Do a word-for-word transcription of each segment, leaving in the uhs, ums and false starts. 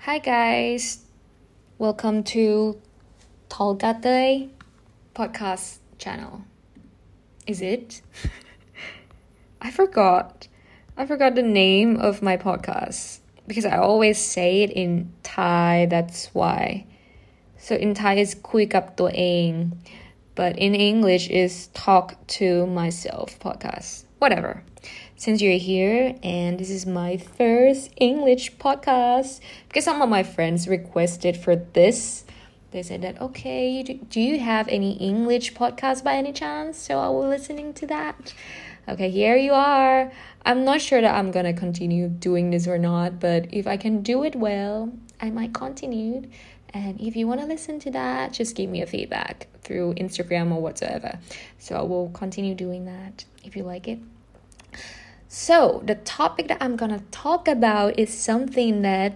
Hi guys, welcome to Tolgate podcast channel. Is it? I forgot. I forgot the name of my podcast because I always say it in Thai, that's why. So in Thai is คุยกับตัวเอง but in English is talk to myself podcast. Whatever. Since you're here and this is my first English podcast, because some of my friends requested for this, they said that, okay, do you have any English podcast by any chance? So I will listening to that. Okay, here you are. I'm not sure that I'm gonna continue doing this or not, but if I can do it well, I might continue. And if you want to listen to that, just give me a feedback through Instagram or whatsoever. So I will continue doing that if you like it. So the topic that I'm gonna talk about is something that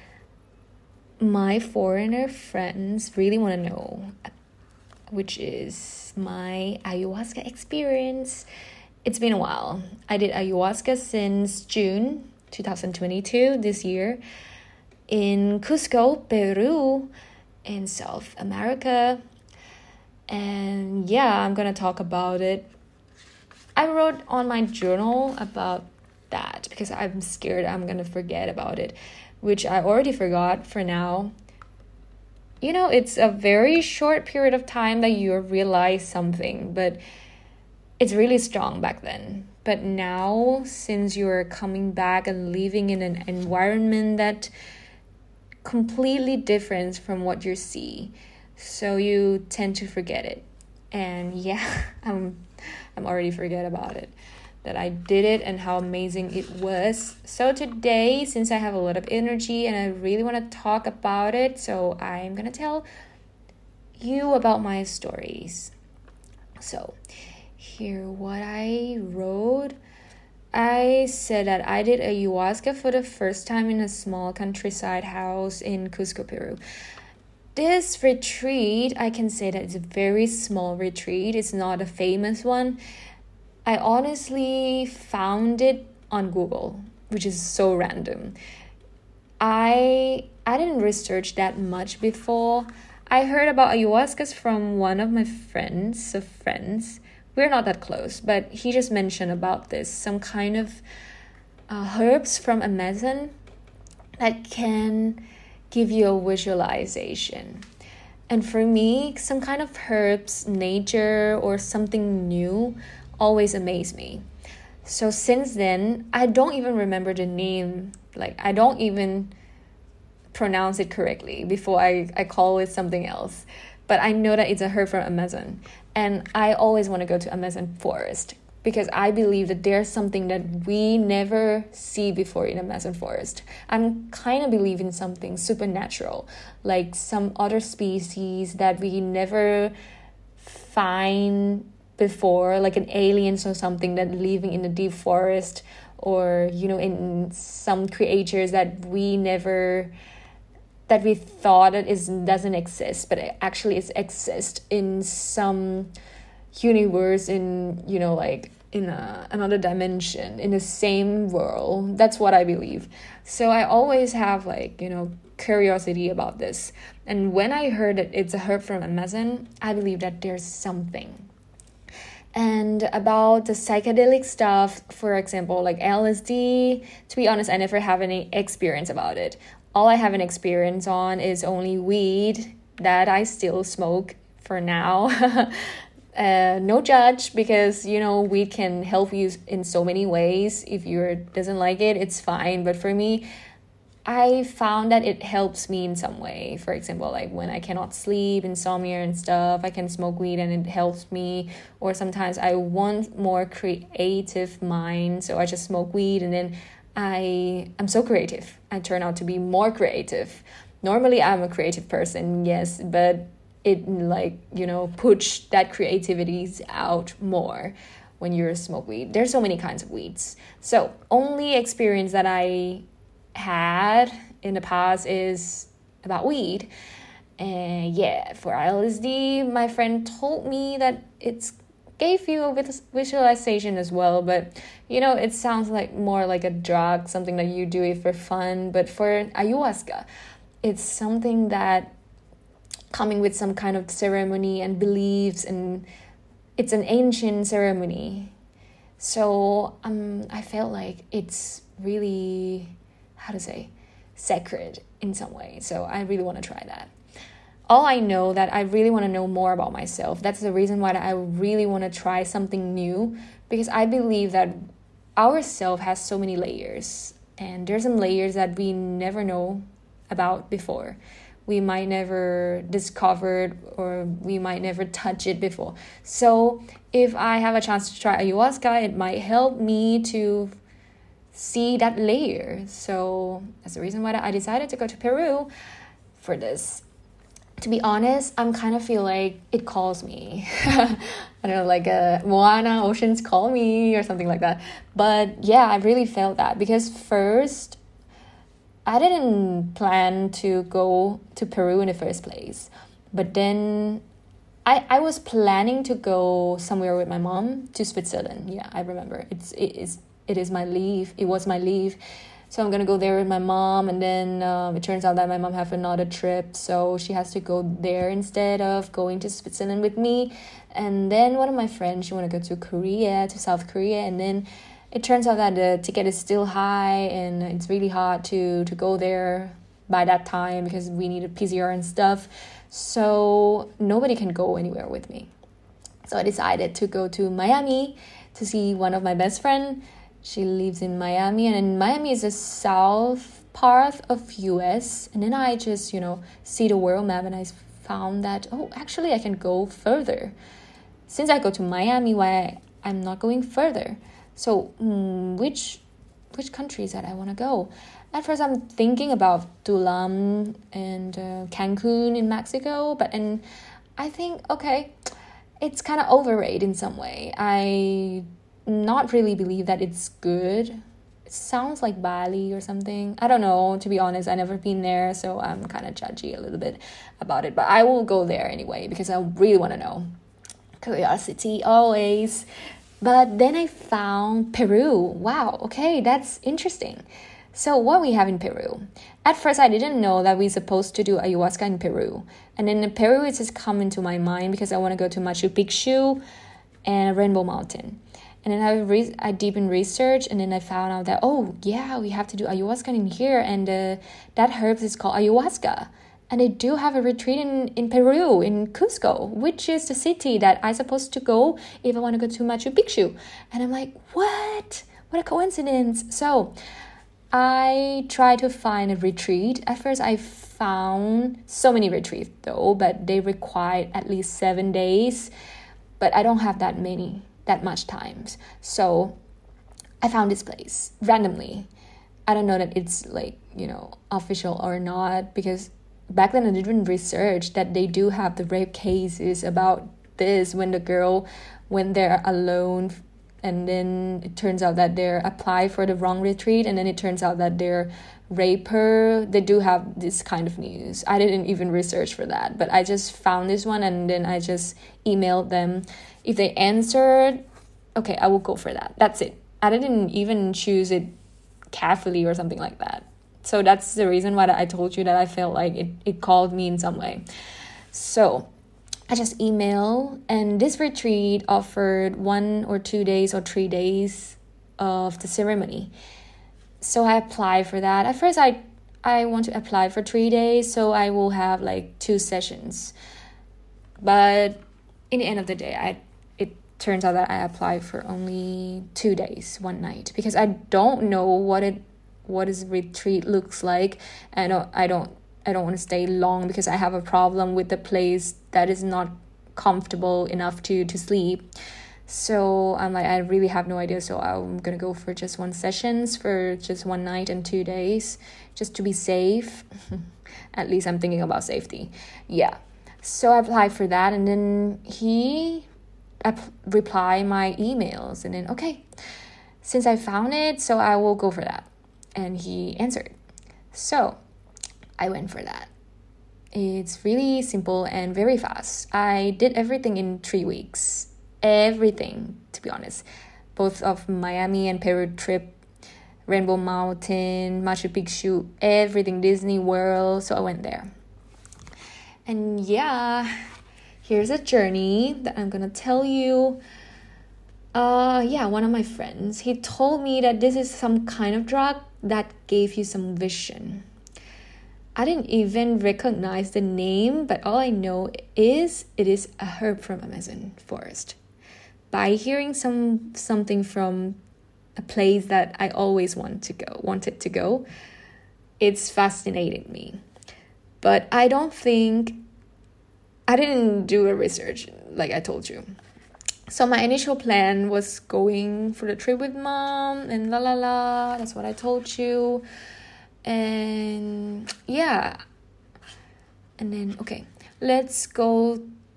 my foreigner friends really want to know, which is my ayahuasca experience. It's been a while. I did ayahuasca since June twenty twenty-two, this year, in Cusco, Peru, in South America. And yeah, I'm gonna talk about it. I wrote on my journal about that because I'm scared I'm gonna forget about it, which I already forgot for now. You know, it's a very short period of time that you realize something, but it's really strong back then. But now, since you're coming back and living in an environment that completely different from what you see, so you tend to forget it. And yeah, I'm I'm already forget about it, that I did it and how amazing it was. So today, since I have a lot of energy and I really want to talk about it, so I'm gonna tell you about my stories. So here what I wrote. I said that I did ayahuasca for the first time in a small countryside house in Cusco, Peru. This retreat, I can say that it's a very small retreat. It's not a famous one. I honestly found it on Google, which is so random. I I didn't research that much before. I heard about ayahuascas from one of my friends, of friends. We're not that close, but he just mentioned about this, some kind of uh, herbs from Amazon that can give you a visualization. And for me, some kind of herbs, nature, or something new always amaze me. So since then, I don't even remember the name. Like, I don't even pronounce it correctly before I, I call it something else. But I know that it's a herb from Amazon. And I always want to go to Amazon forest because I believe that there's something that we never see before in Amazon forest. I'm kind of believe in something supernatural, like some other species that we never find before, like an aliens or something that living in the deep forest, or, you know, in some creatures that we never... that we thought it is doesn't exist, but it actually it exists in some universe, in, you know, like in a, another dimension, in the same world. That's what I believe. So I always have, like, you know, curiosity about this. And when I heard that it's a herb from Amazon, I believe that there's something. And about the psychedelic stuff, for example, like L S D, to be honest, I never have any experience about it. All I have an experience on is only weed that I still smoke for now. uh, no judge, because, you know, weed can help you in so many ways. If you doesn't like it, it's fine. But for me, I found that it helps me in some way. For example, like when I cannot sleep, insomnia and stuff, I can smoke weed and it helps me. Or sometimes I want more creative mind, so I just smoke weed and then I am so creative. I turn out to be more creative. Normally, I'm a creative person, yes, but it, like, you know, push that creativity out more when you smoke weed. There's so many kinds of weeds. So only experience that I had in the past is about weed. And yeah, for L S D, my friend told me that it's gave you a visualization as well, but you know, it sounds like more like a drug, something that you do it for fun. But for ayahuasca, it's something that coming with some kind of ceremony and beliefs, and it's an ancient ceremony. So um, I felt like it's really, how to say, sacred in some way. So I really want to try that. All I know that I really want to know more about myself. That's the reason why I really want to try something new, because I believe that our self has so many layers, and there's some layers that we never know about before. We might never discovered, or we might never touch it before. So if I have a chance to try ayahuasca, it might help me to see that layer. So that's the reason why I decided to go to Peru for this. To be honest, I'm kind of feel like it calls me. I don't know, like a Moana, oceans call me or something like that. But yeah, I really felt that, because first, I didn't plan to go to Peru in the first place. But then I, I was planning to go somewhere with my mom to Switzerland. Yeah, I remember. It's it is it is my leave. It was my leave. So I'm going to go there with my mom, and then um, it turns out that my mom have another trip, so she has to go there instead of going to Switzerland with me. And then one of my friends, she want to go to Korea, to South Korea, and then it turns out that the ticket is still high, and it's really hard to, to go there by that time because we need a P C R and stuff. So nobody can go anywhere with me. So I decided to go to Miami to see one of my best friends. She lives in Miami, and in Miami is the south part of U S. And then I just, you know, see the world map, and I found that, oh, actually I can go further. Since I go to Miami, why I'm not going further? So mm, which which countries that I want to go? At first I'm thinking about Tulum and uh, Cancun in Mexico, but and I think, okay, it's kind of overrated in some way. I not really believe that it's good. It sounds like Bali or something. I don't know, to be honest. I've never been there, so I'm kind of judgy a little bit about it. But I will go there anyway, because I really want to know. Curiosity, always. But then I found Peru. Wow, okay, that's interesting. So what we have in Peru? At first, I didn't know that we're supposed to do ayahuasca in Peru. And then in Peru, it just come into my mind because I want to go to Machu Picchu and Rainbow Mountain. And then I re- I deep in research, and then I found out that, oh, yeah, we have to do ayahuasca in here. And uh, that herb is called ayahuasca. And they do have a retreat in, in Peru, in Cusco, which is the city that I'm supposed to go if I want to go to Machu Picchu. And I'm like, what? What a coincidence. So I tried to find a retreat. At first, I found so many retreats, though, but they required at least seven days. But I don't have that many. that much times. So I found this place randomly. I don't know that it's like, you know, official or not, because back then I didn't research that they do have the rape cases about this, when the girl went there alone, and then it turns out that they're applied for the wrong retreat, and then it turns out that they're rape her. They do have this kind of news. I didn't even research for that, but I just found this one, and then I just emailed them. If they answered, okay, I will go for that. That's it. I didn't even choose it carefully or something like that. So that's the reason why I told you that I felt like it, it called me in some way. So I just emailed, and this retreat offered one or two days or three days of the ceremony. So I applied for that. At first, I I want to apply for three days, so I will have like two sessions. But in the end of the day, I it turns out that I applied for only two days, one night, because I don't know what it what is retreat looks like. I don't I don't I don't want to stay long because I have a problem with the place that is not comfortable enough to to sleep. So I'm like, I really have no idea. So I'm going to go for just one sessions for just one night and two days, just to be safe. At least I'm thinking about safety. Yeah. So I applied for that, and then he ap- replied my emails, and then, okay, since I found it, so I will go for that. And he answered. So I went for that. It's really simple and very fast. I did everything in three weeks. Everything, to be honest. Both of Miami and Peru trip, Rainbow Mountain, Machu Picchu, everything, Disney World. So I went there. And yeah, here's a journey that I'm gonna tell you. Uh, yeah, one of my friends, he told me that this is some kind of drug that gave you some vision. I didn't even recognize the name, but all I know is it is a herb from Amazon forest. By hearing some something from a place that I always want to go, wanted to go, it's fascinated me. But I don't think, I didn't do a research like I told you. So my initial plan was going for the trip with mom and la la la. That's what I told you. And yeah. And then, okay, let's go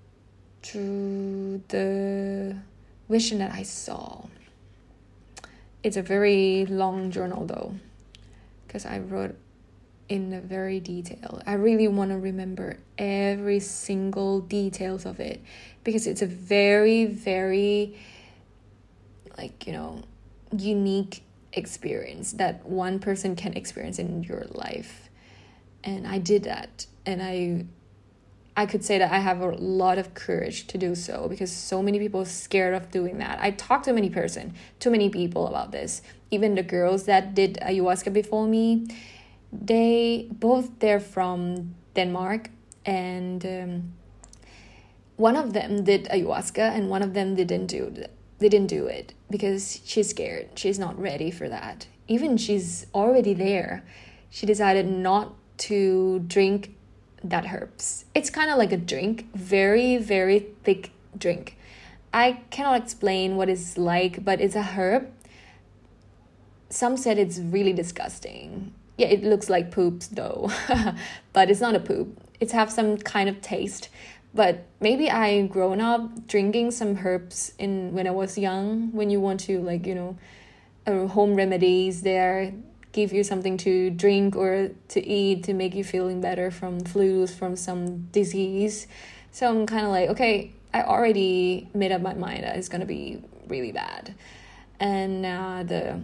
to the vision that I saw. It's a very long journal though, because I wrote in a very detail. I really want to remember every single details of it, because it's a very, very, like, you know, unique experience that one person can experience in your life. And I did that. And I I could say that I have a lot of courage to do so, because so many people are scared of doing that. I talked to many person, too many people about this. Even the girls that did ayahuasca before me, they both they're from Denmark, and um, one of them did ayahuasca and one of them didn't do it. They didn't do it because she's scared. She's not ready for that. Even she's already there, she decided not to drink that herbs. It's kind of like a drink, very, very thick drink. I cannot explain what it's like, but it's a herb. Some said it's really disgusting. Yeah, it looks like poops though, but it's not a poop. It have some kind of taste. But maybe I grown up drinking some herbs in when I was young. When you want to, like, you know, uh, home remedies there, give you something to drink or to eat to make you feeling better from flus, from some disease. So I'm kind of like, okay, I already made up my mind that it's gonna be really bad. And uh, the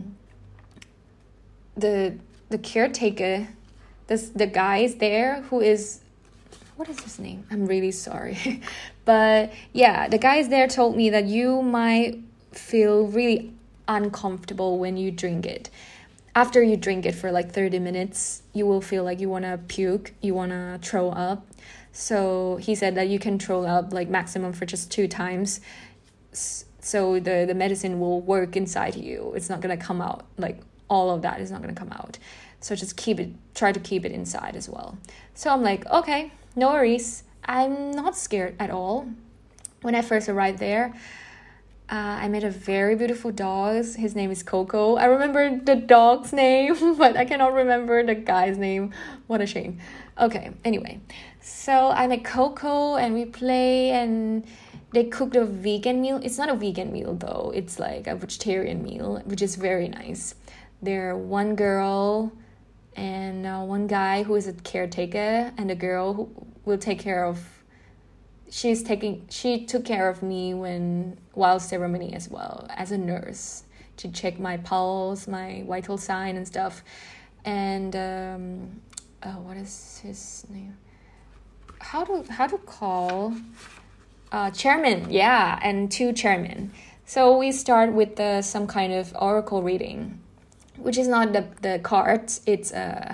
the the caretaker, this the guy is there who is, what is his name? I'm really sorry. But yeah, the guys there told me that you might feel really uncomfortable when you drink it. After you drink it for like thirty minutes, you will feel like you want to puke, you want to throw up. So he said that you can throw up like maximum for just two times. So the, the medicine will work inside you. It's not going to come out, like all of that is not going to come out. So just keep it, try to keep it inside as well. So I'm like, okay, no worries. I'm not scared at all. When I first arrived there, uh, I met a very beautiful dog. His name is Coco. I remember the dog's name, but I cannot remember the guy's name. What a shame. Okay, anyway. So I met Coco and we play and they cooked a vegan meal. It's not a vegan meal though. It's like a vegetarian meal, which is very nice. There one girl and uh, one guy who is a caretaker, and the girl who will take care of she's taking she took care of me when while ceremony as well, as a nurse, to check my pulse, my vital sign and stuff. And um oh, what is his name? How to how to call uh chairman, yeah, and two chairmen. So we start with the some kind of oracle reading, which is not the, the cards, it's uh,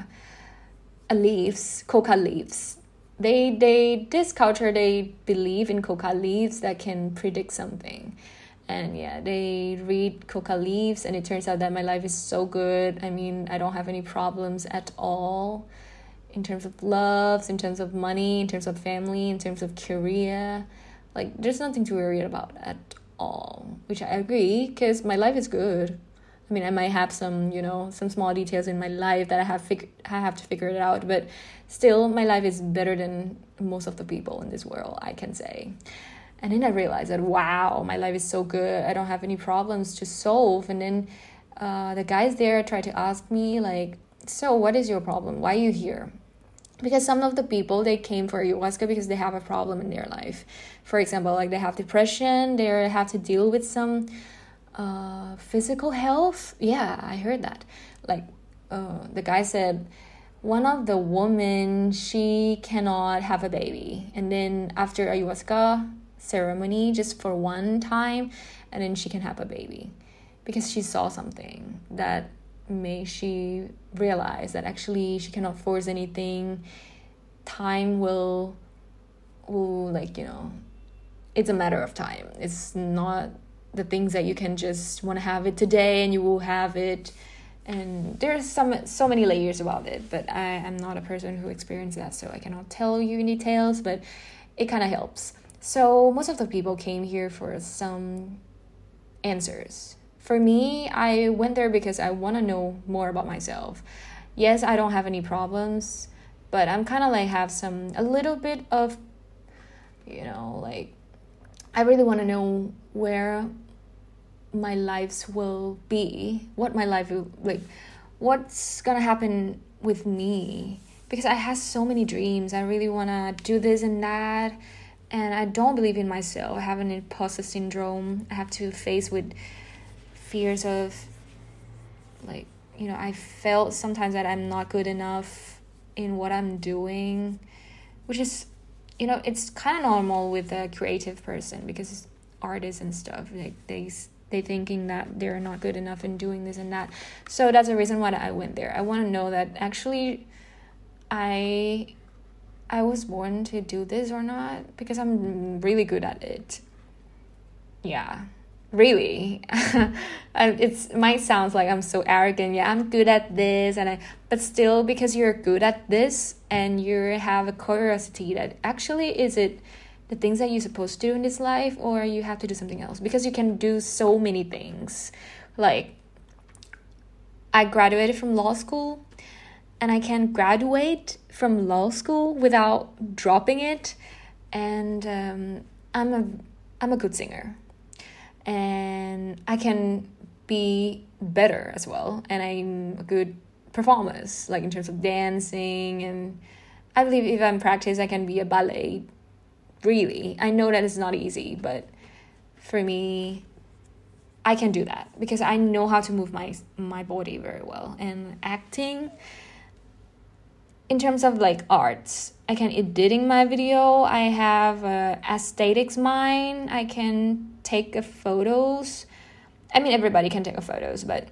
a leaves, coca leaves. They, they, this culture, they believe in coca leaves that can predict something. And yeah, they read coca leaves and it turns out that my life is so good. I mean, I don't have any problems at all in terms of loves, in terms of money, in terms of family, in terms of career. Like, there's nothing to worry about at all, which I agree, because my life is good. I mean, I might have some, you know, some small details in my life that I have fig- I have to figure it out, but still, my life is better than most of the people in this world, I can say. And then I realized that, wow, my life is so good. I don't have any problems to solve. And then uh, the guys there tried to ask me, like, so what is your problem? Why are you here? Because some of the people, they came for ayahuasca because they have a problem in their life. For example, like they have depression, they have to deal with some uh, physical health. Yeah, I heard that. Like, uh, the guy said one of the women, she cannot have a baby. And then after ayahuasca ceremony, just for one time, and then she can have a baby. Because she saw something that made she realize that actually she cannot force anything. Time will, will like, you know, it's a matter of time. It's not the things that you can just want to have it today and you will have it. And there's some so many layers about it, but I am not a person who experienced that, so I cannot tell you in details, but it kind of helps. So most of the people came here for some answers. For me, I went there because I want to know more about myself. Yes, I don't have any problems, but I'm kind of like have some, a little bit of, you know, like, I really want to know where my lives will be, what my life will, like, what's gonna happen with me. Because I have so many dreams. I really want to do this and that. And I don't believe in myself. I have an imposter syndrome. I have to face with fears of, like, you know, I felt sometimes that I'm not good enough in what I'm doing, which is, you know, it's kind of normal with a creative person, because artists and stuff, like, they they thinking that they're not good enough in doing this and that. So that's the reason why I went there. I want to know that actually I I was born to do this or not, because I'm really good at it. Yeah, really. It's might sound like I'm so arrogant. Yeah, I'm good at this, and I but still, because you're good at this and you have a curiosity that actually, is it the things that you're supposed to do in this life, or you have to do something else? Because you can do so many things. Like, I graduated from law school, and I can graduate from law school without dropping it. And um, I'm a I'm a good singer, and I can be better as well. And I'm a good performer, like in terms of dancing. And I believe if I'm practice, I can be a ballet. Really, I know that it's not easy, but for me, I can do that because I know how to move my my body very well. And acting, in terms of like arts, I can editing my video. I have a aesthetics mind. I can take a photos. I mean, everybody can take a photos, but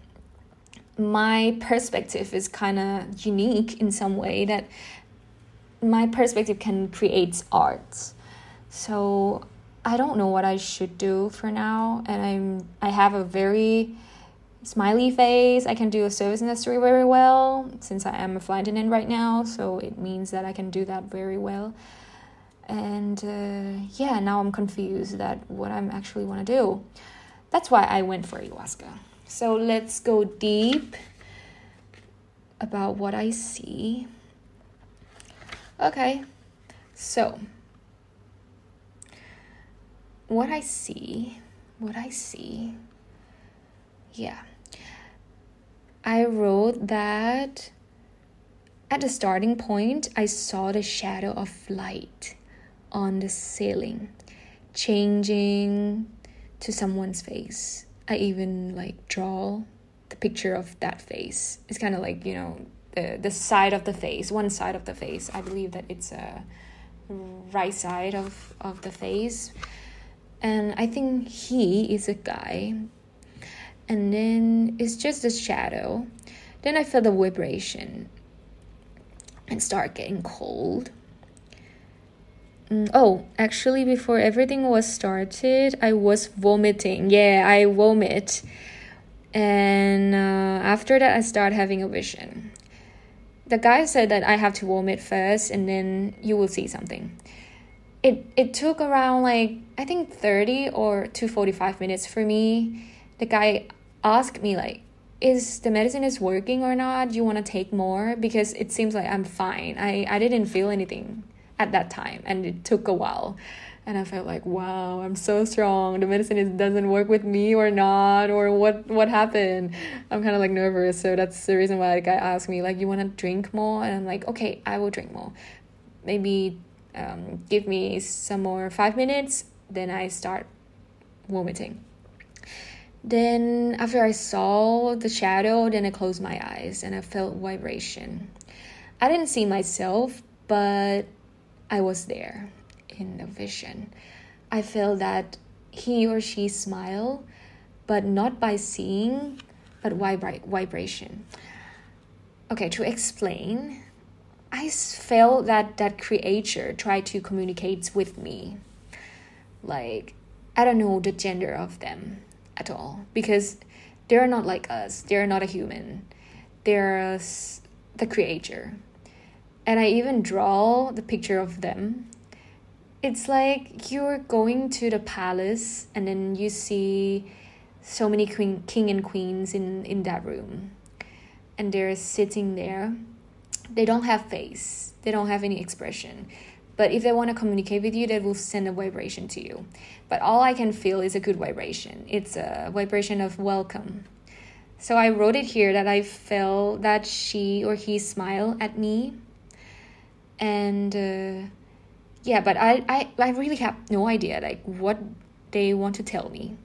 my perspective is kind of unique in some way, that my perspective can create art. So I don't know what I should do for now, and I'm I have a very smiley face. I can do a service industry very well, since I am a flight attendant right now, so it means that I can do that very well. And uh, yeah, now I'm confused that what I'm actually want to do. That's why I went for ayahuasca. So let's go deep about what I see. Okay, so what I see, what I see, yeah. I wrote that at the starting point, I saw the shadow of light on the ceiling, changing to someone's face. I even like draw the picture of that face. It's kind of like, you know, the, the side of the face, one side of the face. I believe that it's a right side of, of the face. And I think he is a guy. And then it's just a shadow. Then I felt the vibration and start getting cold. Mm, oh, actually, before everything was started, I was vomiting. Yeah, I vomit. And uh, after that, I started having a vision. The guy said that I have to vomit first, and then you will see something. It it took around like, I think thirty or to forty-five minutes for me. The guy asked me like, is the medicine is working or not? Do you want to take more? Because it seems like I'm fine. I, I didn't feel anything at that time, and it took a while. And I felt like, wow, I'm so strong. The medicine is, doesn't work with me or not, or what what happened? I'm kind of like nervous. So that's the reason why the guy asked me like, you want to drink more? And I'm like, okay, I will drink more. Maybe um, give me some more five minutes. Then I start vomiting. Then after I saw the shadow, then I closed my eyes and I felt vibration. I didn't see myself, but I was there in the vision. I felt that he or she smile, but not by seeing, but vibra- vibration. Okay, to explain, I felt that that creature tried to communicate with me. Like, I don't know the gender of them at all, because they're not like us. They're not a human. They're the creature. And I even draw the picture of them. It's like you're going to the palace and then you see so many queen, king and queens in, in that room. And they're sitting there. They don't have face. They don't have any expression. But if they want to communicate with you, they will send a vibration to you. But all I can feel is a good vibration. It's a vibration of welcome. So I wrote it here that I felt that she or he smiled at me. And uh, yeah, but I, I, I really have no idea like what they want to tell me.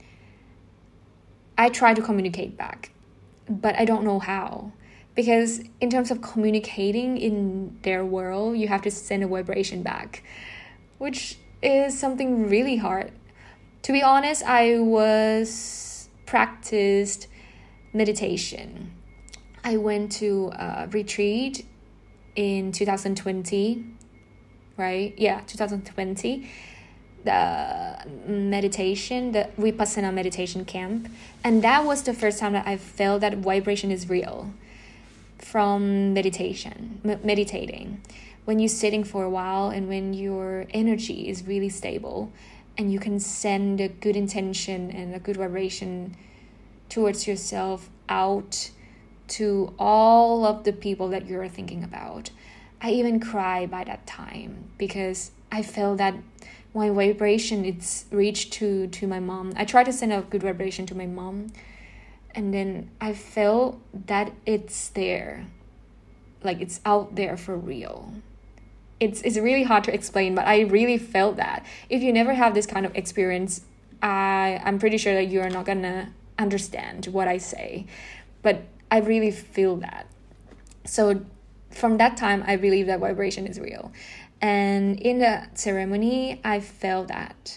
I try to communicate back, but I don't know how. Because in terms of communicating in their world, you have to send a vibration back, which is something really hard. To be honest, I was practiced meditation. I went to a retreat in two thousand twenty, right? Yeah, two thousand twenty. The meditation, the Vipassana meditation camp. And that was the first time that I felt that vibration is real. From meditation, m- meditating, when you're sitting for a while and when your energy is really stable and you can send a good intention and a good vibration towards yourself out to all of the people that you're thinking about. I even cried by that time because I felt that my vibration, it's reached to, to my mom. I tried to send a good vibration to my mom. And then I felt that it's there. Like it's out there for real. It's it's really hard to explain, but I really felt that. If you never have this kind of experience, I, I'm pretty sure that you're not gonna understand what I say. But I really feel that. So from that time, I believe that vibration is real. And in the ceremony, I felt that.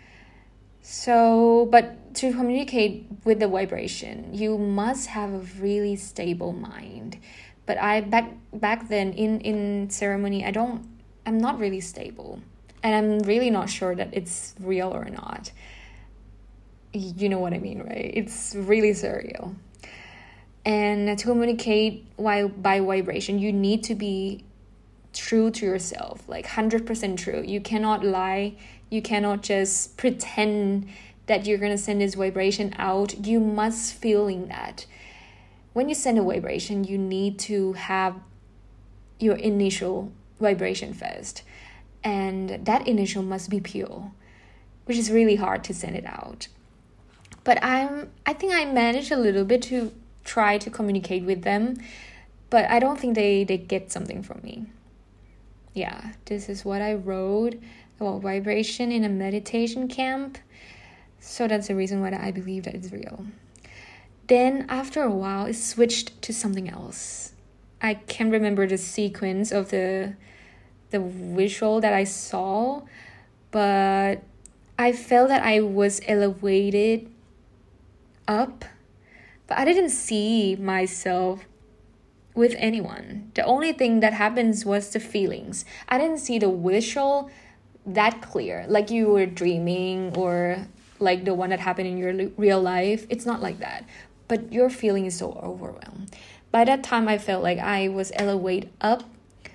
So, but to communicate with the vibration, you must have a really stable mind. But I back back then in, in ceremony, I don't, I'm not really stable. And I'm really not sure that it's real or not. You know what I mean, right? It's really surreal. And to communicate while by vibration, you need to be true to yourself, like one hundred percent true. You cannot lie. You cannot just pretend that you're going to send this vibration out. You must feeling that. When you send a vibration, you need to have your initial vibration first. And that initial must be pure, which is really hard to send it out. But I'm, I think I managed a little bit to try to communicate with them, but I don't think they, they get something from me. Yeah, this is what I wrote about vibration in a meditation camp. So that's the reason why I believe that it's real. Then after a while, it switched to something else. I can't remember the sequence of the the visual that I saw, but I felt that I was elevated up, but I didn't see myself with anyone. The only thing that happens was the feelings. I didn't see the visual that clear, like you were dreaming or like the one that happened in your real life. It's not like that, but your feeling is so overwhelmed. By that time, I felt like I was elevated up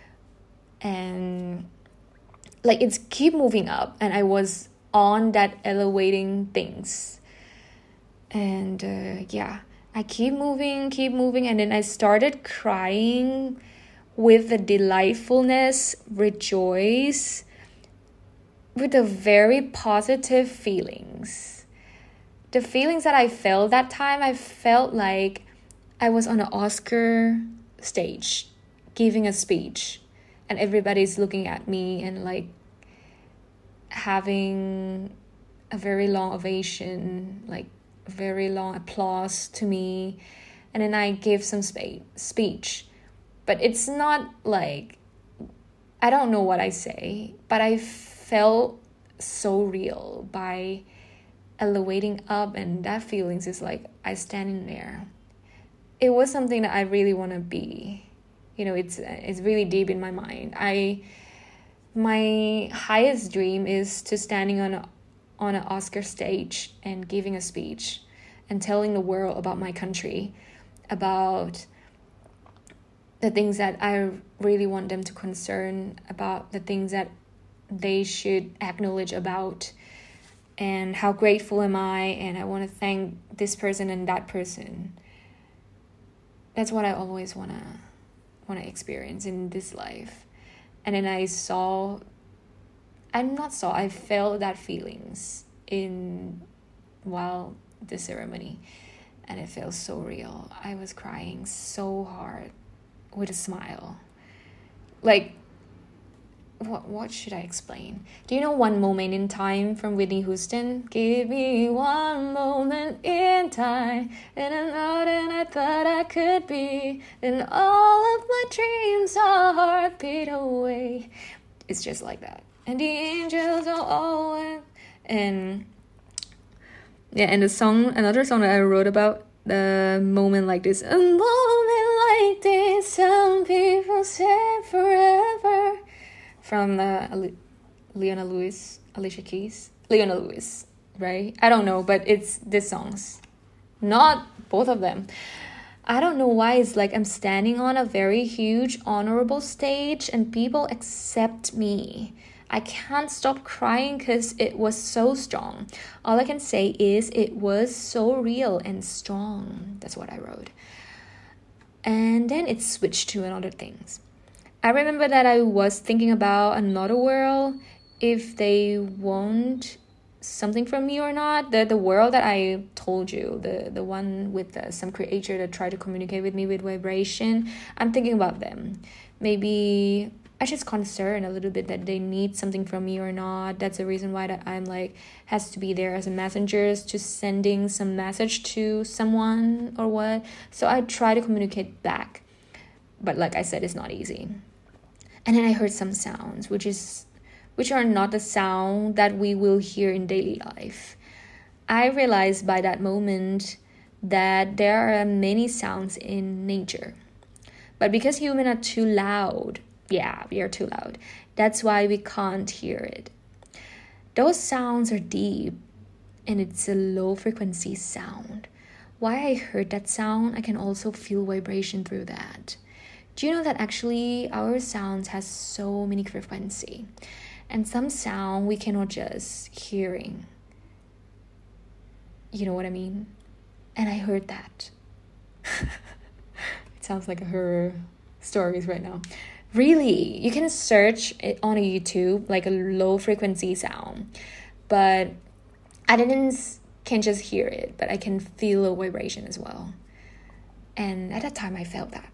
and like it's keep moving up, and I was on that elevating things. And uh, yeah, I keep moving, keep moving, and then I started crying with the delightfulness, rejoice, with the very positive feelings. The feelings that I felt that time, I felt like I was on an Oscar stage giving a speech, and everybody's looking at me and like having a very long ovation, like very long applause to me, and then I give some spa- speech. But it's not like, I don't know what I say, but I felt so real by elevating up, and that feelings is like I stand in there. It was something that I really want to be. You know, it's it's really deep in my mind. I my highest dream is to standing on a, on an Oscar stage and giving a speech and telling the world about my country, about the things that I really want them to concern about, the things that they should acknowledge about, and how grateful am I, and I want to thank this person and that person. That's what I always want to want to experience in this life. And then I saw, I'm not saw, I felt that feelings in while the ceremony, and it felt so real. I was crying so hard with a smile. Like, what what should I explain? Do you know One Moment in Time from Whitney Houston? Give me one moment in time, and I'm not than I thought I could be, and all of my dreams are heartbeat away. It's just like that. And the angels are always, and yeah, and the song, another song that I wrote about the moment like this. A moment like this, some people say forever. From uh, Leona Lewis, Alicia Keys, Leona Lewis, right? I don't know, but it's these songs, not both of them. I don't know why it's like I'm standing on a very huge, honorable stage and people accept me. I can't stop crying because it was so strong. All I can say is it was so real and strong. That's what I wrote. And then it switched to another things. I remember that I was thinking about another world, if they want something from me or not. The the world that I told you, the, the one with uh, some creator that tried to communicate with me with vibration, I'm thinking about them. Maybe I just concerned a little bit that they need something from me or not. That's the reason why that I'm like, has to be there as a messenger to sending some message to someone or what. So I try to communicate back. But like I said, it's not easy. And then I heard some sounds, which is, which are not the sound that we will hear in daily life. I realized by that moment that there are many sounds in nature. But because humans are too loud, yeah, we are too loud. That's why we can't hear it. Those sounds are deep, and it's a low frequency sound. Why I heard that sound, I can also feel vibration through that. Do you know that actually our sounds has so many frequency, and some sound we cannot just hearing. You know what I mean? And I heard that. It sounds like a horror stories right now. Really, you can search it on a YouTube, like a low frequency sound, but I didn't can just hear it, but I can feel a vibration as well. And at that time I felt that.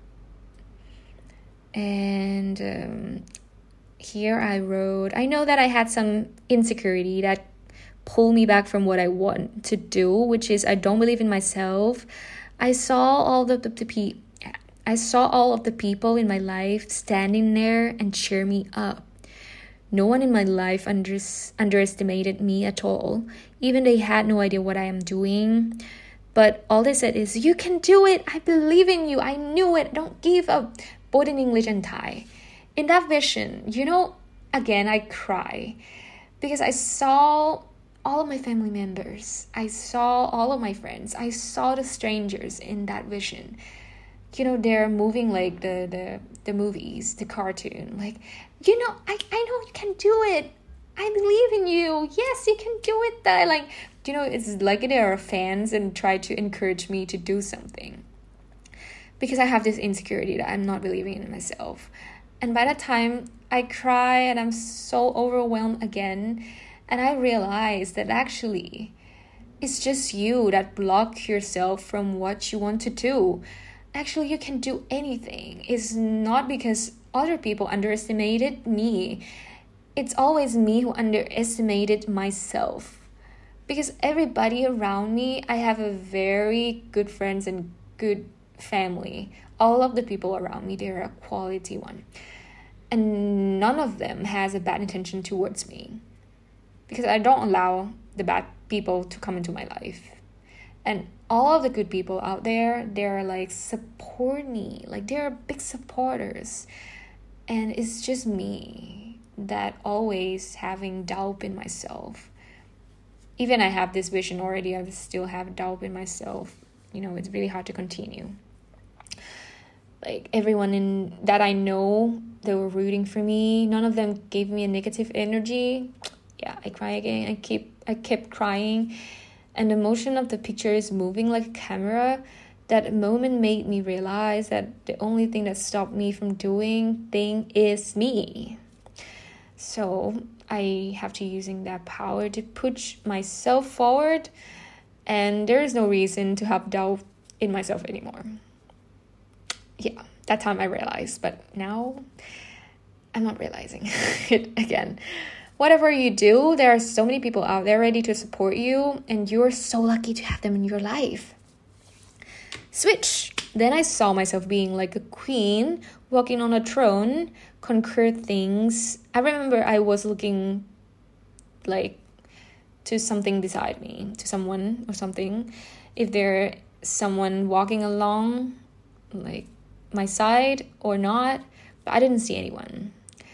And um, here I wrote, I know that I had some insecurity that pulled me back from what I want to do, which is I don't believe in myself. I saw all the, the, the pe- I saw all of the people in my life standing there and cheer me up. No one in my life under- underestimated me at all. Even they had no idea what I am doing. But all they said is, you can do it. I believe in you. I knew it. Don't give up. Both in English and Thai. In that vision, you know, again, I cry because I saw all of my family members. I saw all of my friends. I saw the strangers in that vision. You know, they're moving like the, the, the movies, the cartoon. Like, you know, I, I know you can do it. I believe in you. Yes, you can do it. That like, you know, it's like they are fans and try to encourage me to do something. Because I have this insecurity that I'm not believing in myself. And by that time, I cry and I'm so overwhelmed again. And I realize that actually, it's just you that block yourself from what you want to do. Actually, you can do anything. It's not because other people underestimated me. It's always me who underestimated myself. Because everybody around me, I have a very good friends and good family. All of the people around me, they're a quality one. And none of them has a bad intention towards me. Because I don't allow the bad people to come into my life. And all of the good people out there, they're like support me. Like they're big supporters. And it's just me that always having doubt in myself. Even I have this vision already, I still have doubt in myself. You know, it's really hard to continue. Like everyone in that I know, they were rooting for me. None of them gave me a negative energy. Yeah, I cry again. I keep I kept crying. And the motion of the picture is moving like a camera. That moment made me realize that the only thing that stopped me from doing thing is me. So I have to using that power to push myself forward. And there is no reason to have doubt in myself anymore. Yeah, that time I realized. But now I'm not realizing it again. Whatever you do, there are so many people out there ready to support you, and you're so lucky to have them in your life. Switch. Then I saw myself being like a queen, walking on a throne, conquer things. I remember I was looking like to something beside me, to someone or something. If there someone walking along like my side or not, but I didn't see anyone.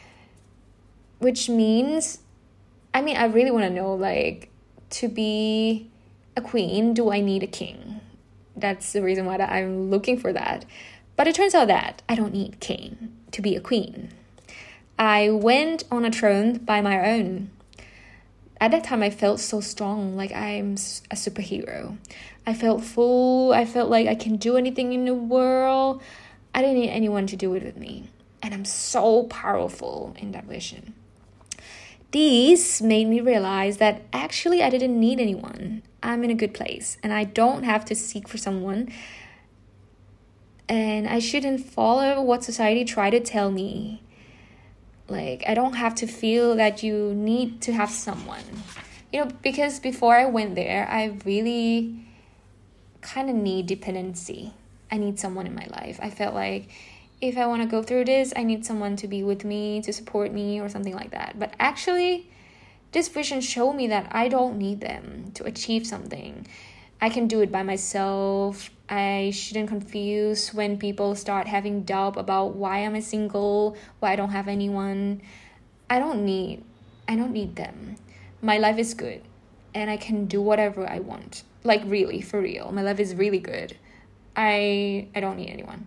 Which means, I mean, I really want to know, like, to be a queen, do I need a king? That's the reason why that I'm looking for that. But it turns out that I don't need king to be a queen. I went on a throne by my own. At that time, I felt so strong, like I'm a superhero. I felt full. I felt like I can do anything in the world. I didn't need anyone to do it with me. And I'm so powerful in that vision. This made me realize that actually I didn't need anyone. I'm in a good place and I don't have to seek for someone. And I shouldn't follow what society tried to tell me. Like, I don't have to feel that you need to have someone. You know, because before I went there, I really kind of need dependency. I need someone in my life. I felt like if I want to go through this, I need someone to be with me, to support me or something like that. But actually, this vision showed me that I don't need them to achieve something. I can do it by myself. I shouldn't confuse when people start having doubt about why am I single, why I don't have anyone. I don't need, I don't need them. My life is good and I can do whatever I want. Like really, for real. My life is really good. I I don't need anyone.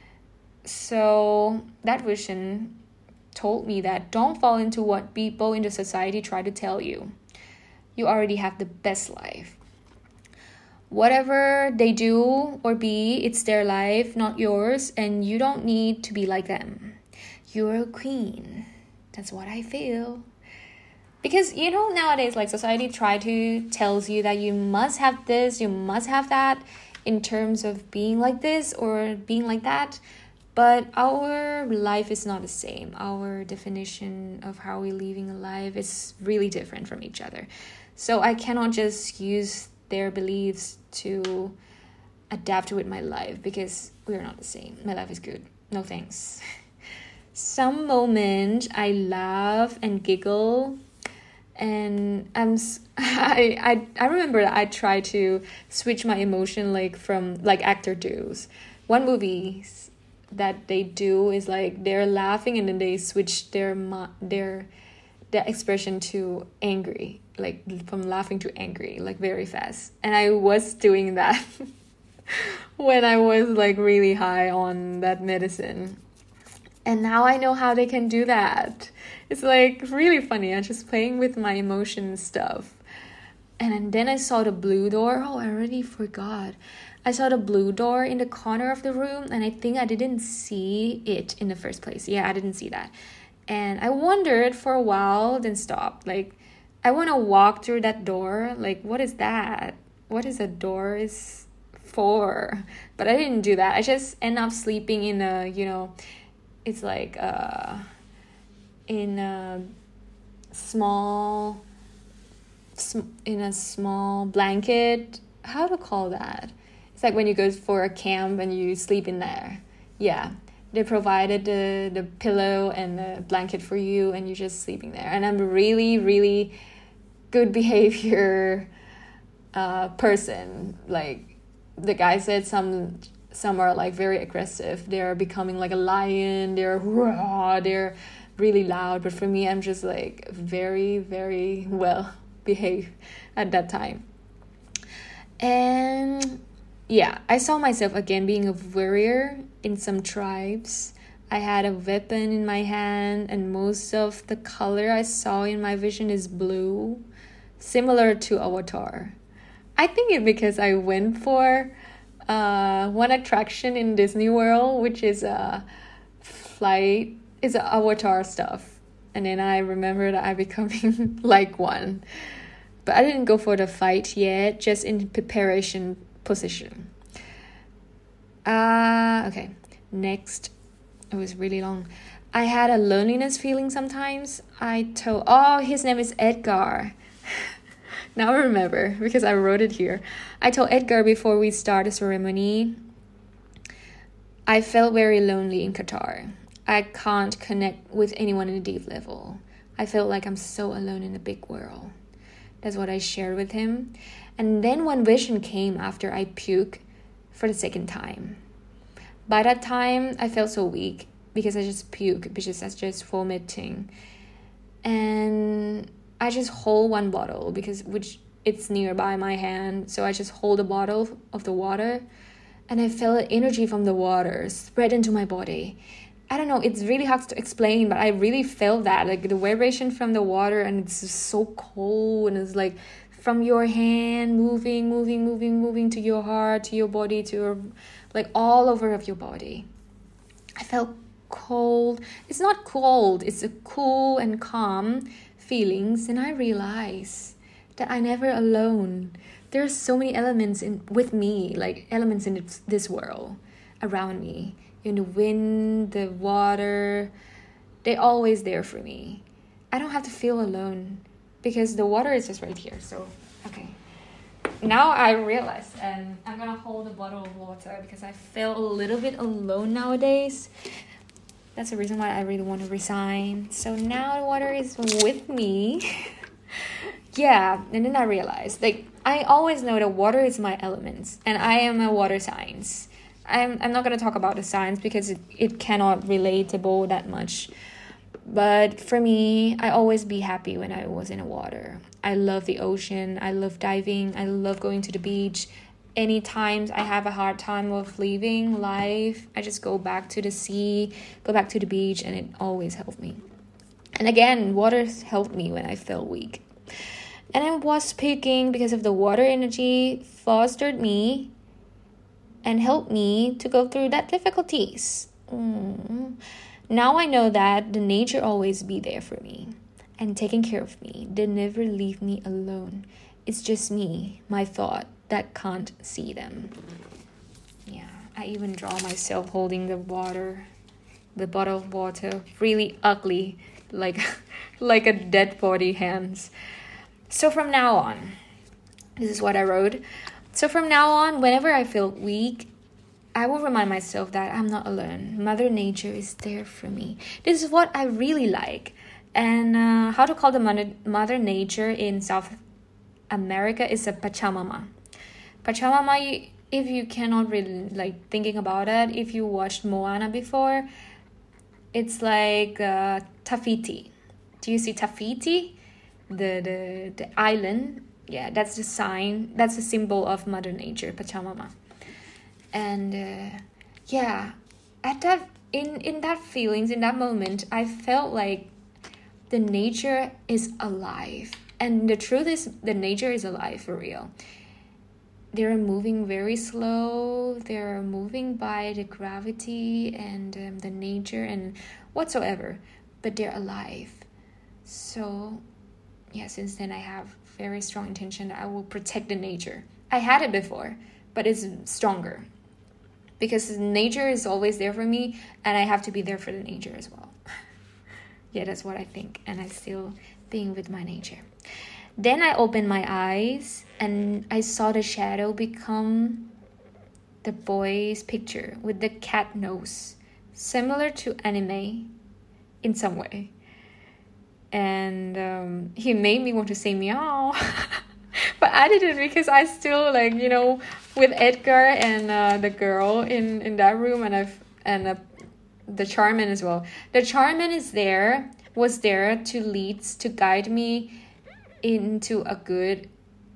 So that vision told me that don't fall into what people in the society try to tell you. You already have the best life. Whatever they do or be, it's their life, not yours, and you don't need to be like them. You're a queen. That's what I feel. Because, you know, nowadays, like, society try to tells you that you must have this, you must have that in terms of being like this or being like that. But our life is not the same. Our definition of how we're living a life is really different from each other. So I cannot just use their beliefs to adapt with my life because we're not the same. My life is good. No thanks. Some moment I laugh and giggle, and I'm I I I remember that I try to switch my emotion like from like actor does. One movie that they do is like they're laughing and then they switch their their their expression to angry, like from laughing to angry, like very fast. And I was doing that when I was like really high on that medicine. And now I know how they can do that. It's like really funny. I'm just playing with my emotion stuff. And then I saw the blue door. Oh, I already forgot. I saw the blue door in the corner of the room, and I think I didn't see it in the first place. Yeah, I didn't see that. And I wondered for a while, then stopped. Like, I want to walk through that door. Like, what is that? What is a door is for? But I didn't do that. I just end up sleeping in a, you know, it's like uh, in a small in a small blanket. How to call that? It's like when you go for a camp and you sleep in there. Yeah, they provided the, the pillow and the blanket for you, and you're just sleeping there. And I'm a really, really good behavior uh, person. Like the guy said, some some are like very aggressive. They're becoming like a lion. They're raw. They're really loud. But for me, I'm just like very, very well behaved at that time. And yeah, I saw myself again being a warrior in some tribes. I had a weapon in my hand, and most of the color I saw in my vision is blue, similar to Avatar. I think it because I went for uh, one attraction in Disney World, which is a flight, is a Avatar stuff. And then I remember that I becoming like one. But I didn't go for the fight yet, just in preparation position. Uh, okay, next. It was really long. I had a loneliness feeling sometimes. I told, oh, his name is Edgar. Now I remember, because I wrote it here. I told Edgar before we start the ceremony, I felt very lonely in Qatar. I can't connect with anyone in a deep level. I felt like I'm so alone in the big world. That's what I shared with him. And then one vision came after I puked for the second time. By that time, I felt so weak because I just puked, because I was just vomiting. And I just hold one bottle because which it's nearby my hand. So I just hold a bottle of the water, and I felt energy from the water spread into my body. I don't know, it's really hard to explain, but I really felt that, like the vibration from the water, and it's just so cold, and it's like from your hand moving, moving, moving, moving to your heart, to your body, to your, like all over of your body. I felt cold. It's not cold, it's a cool and calm feelings. And I realized that I never alone. There's so many elements in with me, like elements in this world around me. In the wind, the water, they're always there for me. I don't have to feel alone because the water is just right here. So, okay. Now I realize, and I'm going to hold a bottle of water because I feel a little bit alone nowadays. That's the reason why I really want to resign. So now the water is with me. Yeah, and then I realized, like, I always know that water is my elements, and I am a water signs. I'm I'm not going to talk about the science because it, it cannot relatable that much. But for me, I always be happy when I was in the water. I love the ocean. I love diving. I love going to the beach. Any times I have a hard time of leaving life, I just go back to the sea, go back to the beach, and it always helped me. And again, water helped me when I felt weak. And I was speaking because of the water energy fostered me and helped me to go through that difficulties. Mm. Now I know that the nature always be there for me and taking care of me. They never leave me alone. It's just me, my thought, that can't see them. Yeah, I even draw myself holding the water, the bottle of water, really ugly, like, like a dead body hands. So from now on, this is what I wrote. So from now on, whenever I feel weak, I will remind myself that I'm not alone. Mother Nature is there for me. This is what I really like. And uh, how to call the mother, mother Nature in South America is a Pachamama. Pachamama, if you cannot really like thinking about it, if you watched Moana before, it's like uh, Tafiti. Do you see Tafiti? The, the, the island. Yeah, that's the sign, that's the symbol of Mother Nature, Pachamama. And uh, yeah, at that in, in that feelings, in that moment, I felt like the nature is alive. And the truth is, the nature is alive for real. They're moving very slow. They're moving by the gravity and um, the nature and whatsoever. But they're alive. So yeah, since then I have very strong intention that I will protect the nature. I had it before, but it's stronger because nature is always there for me, and I have to be there for the nature as well. Yeah, that's what I think, and I still being with my nature. Then I opened my eyes and I saw the shadow become the boy's picture with the cat nose, similar to anime in some way. And um, he made me want to say meow. But I didn't, because I still, like, you know, with Edgar and uh, the girl in, in that room, and I've and uh, the Charmin as well. The Charmin is there, was there to lead, to guide me into a good,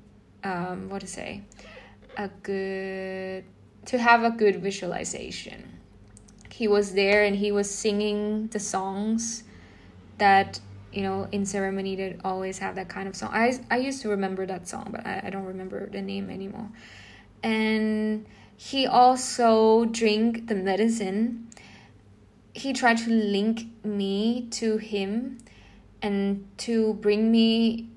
um, what to say, a good, to have a good visualization. He was there and he was singing the songs that, you know, in ceremony they always have that kind of song. I, I used to remember that song, but I, I don't remember the name anymore. And he also drank the medicine. He tried to link me to him and to bring me,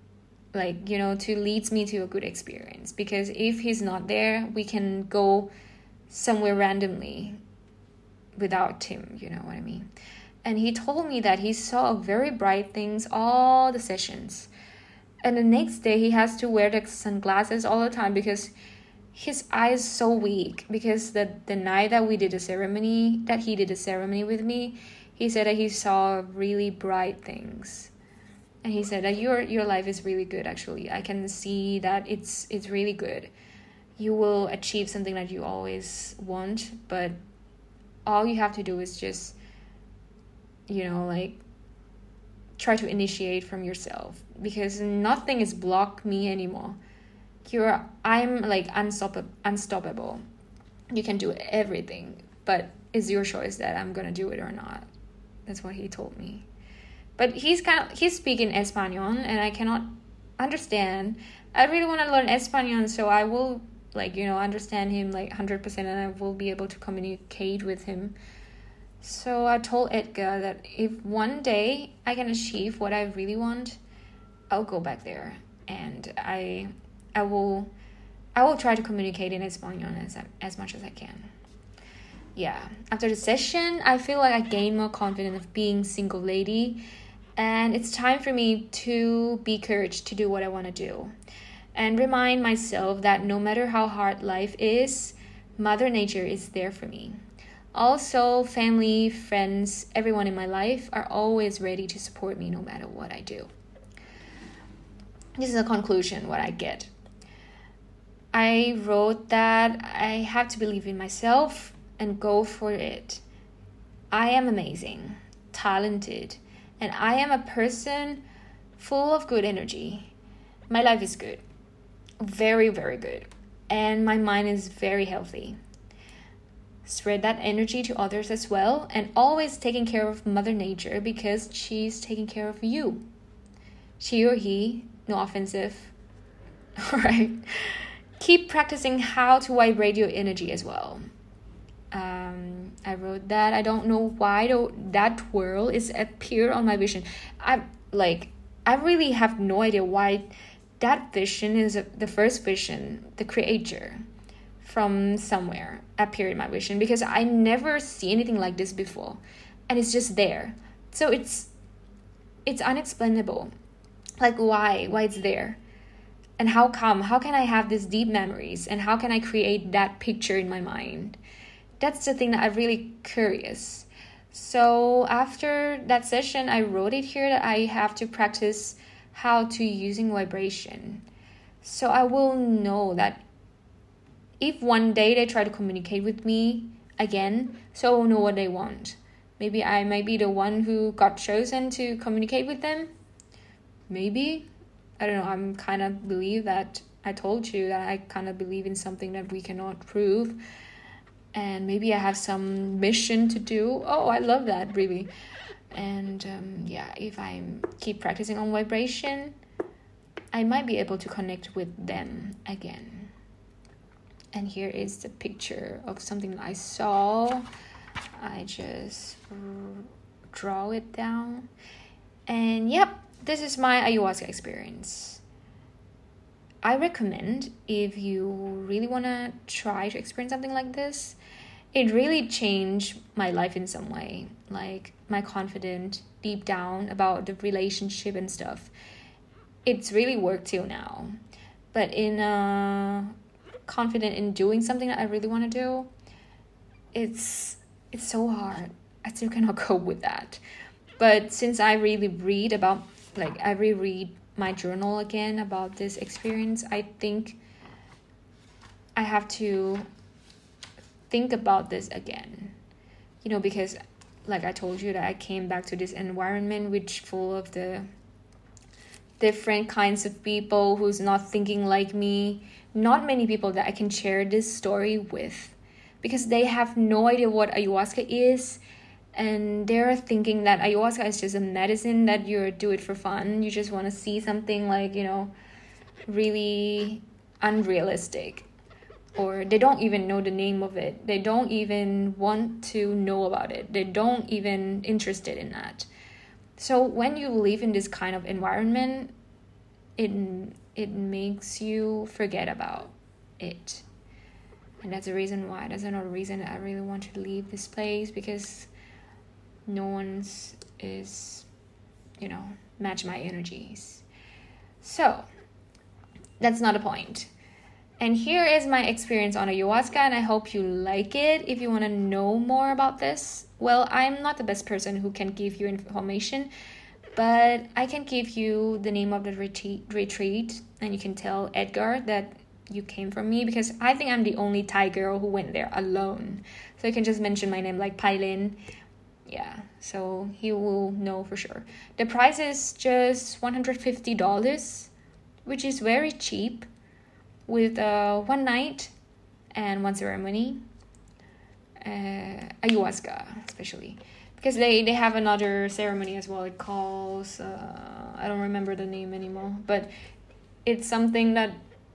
like, you know, to lead me to a good experience. Because if he's not there, we can go somewhere randomly without him, you know what I mean? And he told me that he saw very bright things all the sessions. And the next day he has to wear the sunglasses all the time because his eye is so weak. Because the, the night that we did the ceremony, that he did the ceremony with me, he said that he saw really bright things. And he said that your your life is really good, actually. I can see that it's it's really good. You will achieve something that you always want, but all you have to do is just, you know, like, try to initiate from yourself, because nothing is block me anymore. You're, I'm like unstoppable, unstoppable. You can do everything, but it's your choice that I'm gonna do it or not. That's what he told me. But he's kind of, he's speaking Espanol and I cannot understand. I really want to learn Espanol, so I will, like, you know, understand him like one hundred percent, and I will be able to communicate with him. So I told Edgar that if one day I can achieve what I really want, I'll go back there, and I I will I will try to communicate in Espanol as as much as I can. Yeah, after the session, I feel like I gained more confidence of being single lady, and it's time for me to be courage to do what I want to do, and remind myself that no matter how hard life is, Mother Nature is there for me. Also, family, friends, everyone in my life are always ready to support me no matter what I do. This is a conclusion, what I get. I wrote that I have to believe in myself and go for it. I am amazing, talented, and I am a person full of good energy. My life is good, very, very good, and my mind is very healthy. Spread that energy to others as well, and always taking care of Mother Nature, because she's taking care of you. She or he, no offensive. Alright. Keep practicing how to vibrate your energy as well. Um, I wrote that I don't know why though that twirl is appeared on my vision. I like I really have no idea why that vision is a, the first vision, the creator from somewhere appeared in my vision, because I never see anything like this before, and it's just there. So it's it's unexplainable. Like why why it's there, and how come how can I have these deep memories, and how can I create that picture in my mind? That's the thing that I'm really curious. So after that session, I wrote it here that I have to practice how to using vibration. So I will know that if one day they try to communicate with me again, so I will know what they want. Maybe I might be the one who got chosen to communicate with them. Maybe. I don't know. I'm kind of believe that I told you that I kind of believe in something that we cannot prove. And maybe I have some mission to do. Oh, I love that, really. And um, yeah, if I keep practicing on vibration, I might be able to connect with them again. And here is the picture of something I saw. I just draw it down. And yep, this is my ayahuasca experience. I recommend, if you really want to try to experience something like this, it really changed my life in some way. Like my confidence deep down about the relationship and stuff. it's really worked till now. But in uh, confident in doing something that I really want to do, it's it's so hard. I still cannot cope with that. But since I really read about, like, I reread my journal again about this experience, I think I have to think about this again. You know, because like I told you that I came back to this environment which full of the different kinds of people who's not thinking like me. Not many people that I can share this story with, because they have no idea what ayahuasca is, and they're thinking that ayahuasca is just a medicine that you do it for fun. You just want to see something like, you know, really unrealistic. Or they don't even know the name of it. They don't even want to know about it. They don't even interested in that. So when you live in this kind of environment, it it makes you forget about it. And that's the reason why. That's another reason that I really want to leave this place, because no one's is, you know, match my energies. So that's not a point. And here is my experience on ayahuasca, and I hope you like it. If you want to know more about this, well, I'm not the best person who can give you information, but I can give you the name of the retreat, retreat and you can tell Edgar that you came from me, because I think I'm the only Thai girl who went there alone. So you can just mention my name, like Pailin. Yeah, so he will know for sure. The price is just one hundred fifty dollars, which is very cheap, with uh, one night and one ceremony. Uh, ayahuasca, especially. Because they, they have another ceremony as well. It calls, uh, I don't remember the name anymore. But it's something that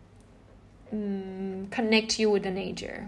um, connects you with the nature.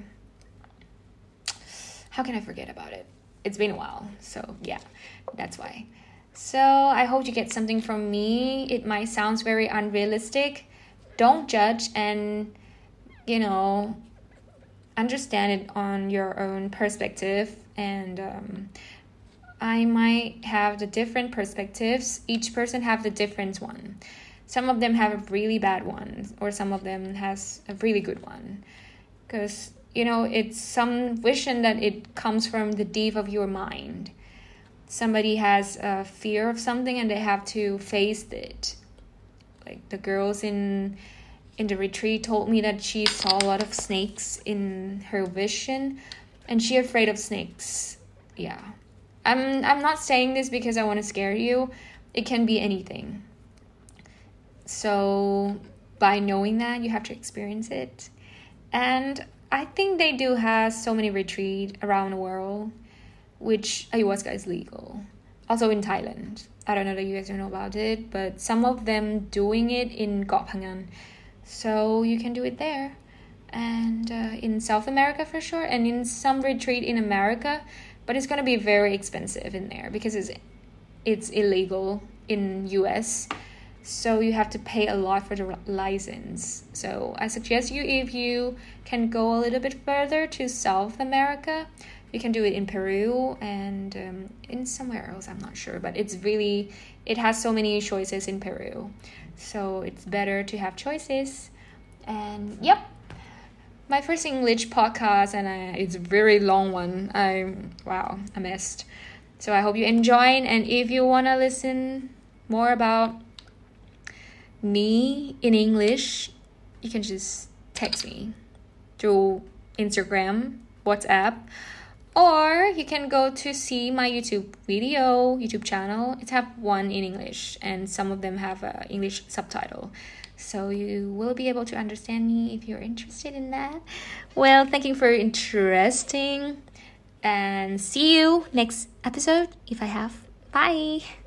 How can I forget about it? It's been a while. So yeah, that's why. So I hope you get something from me. It might sound very unrealistic. Don't judge, and, you know, understand it on your own perspective. And um, I might have the different perspectives. Each person have the different one. Some of them have a really bad one, or some of them has a really good one. Because, you know, it's some vision that it comes from the deep of your mind. Somebody has a fear of something and they have to face it. Like the girls in in the retreat told me that she saw a lot of snakes in her vision, and she afraid of snakes. Yeah, I'm I'm not saying this because I want to scare you. It can be anything. So by knowing that, you have to experience it. And I think they do have so many retreats around the world, which ayahuasca is legal. Also in Thailand. I don't know that you guys don't know about it, but some of them doing it in Koh Phangan. So you can do it there. And uh, in South America for sure. And in some retreat in America. But it's going to be very expensive in there because it's, it's illegal in U S. So you have to pay a lot for the license. So I suggest you, if you can go a little bit further to South America, you can do it in Peru and um, in somewhere else, I'm not sure. But it's really, it has so many choices in Peru. So it's better to have choices. And yep, my first English podcast, and I, it's a very long one. I wow, I missed. So I hope you enjoyed. And if you want to listen more about me in English, you can just text me through Instagram, WhatsApp, or you can go to see my YouTube video, YouTube channel. It's have one in English, and some of them have a English subtitle. So you will be able to understand me if you're interested in that. Well, thank you for interesting, and see you next episode if I have. Bye.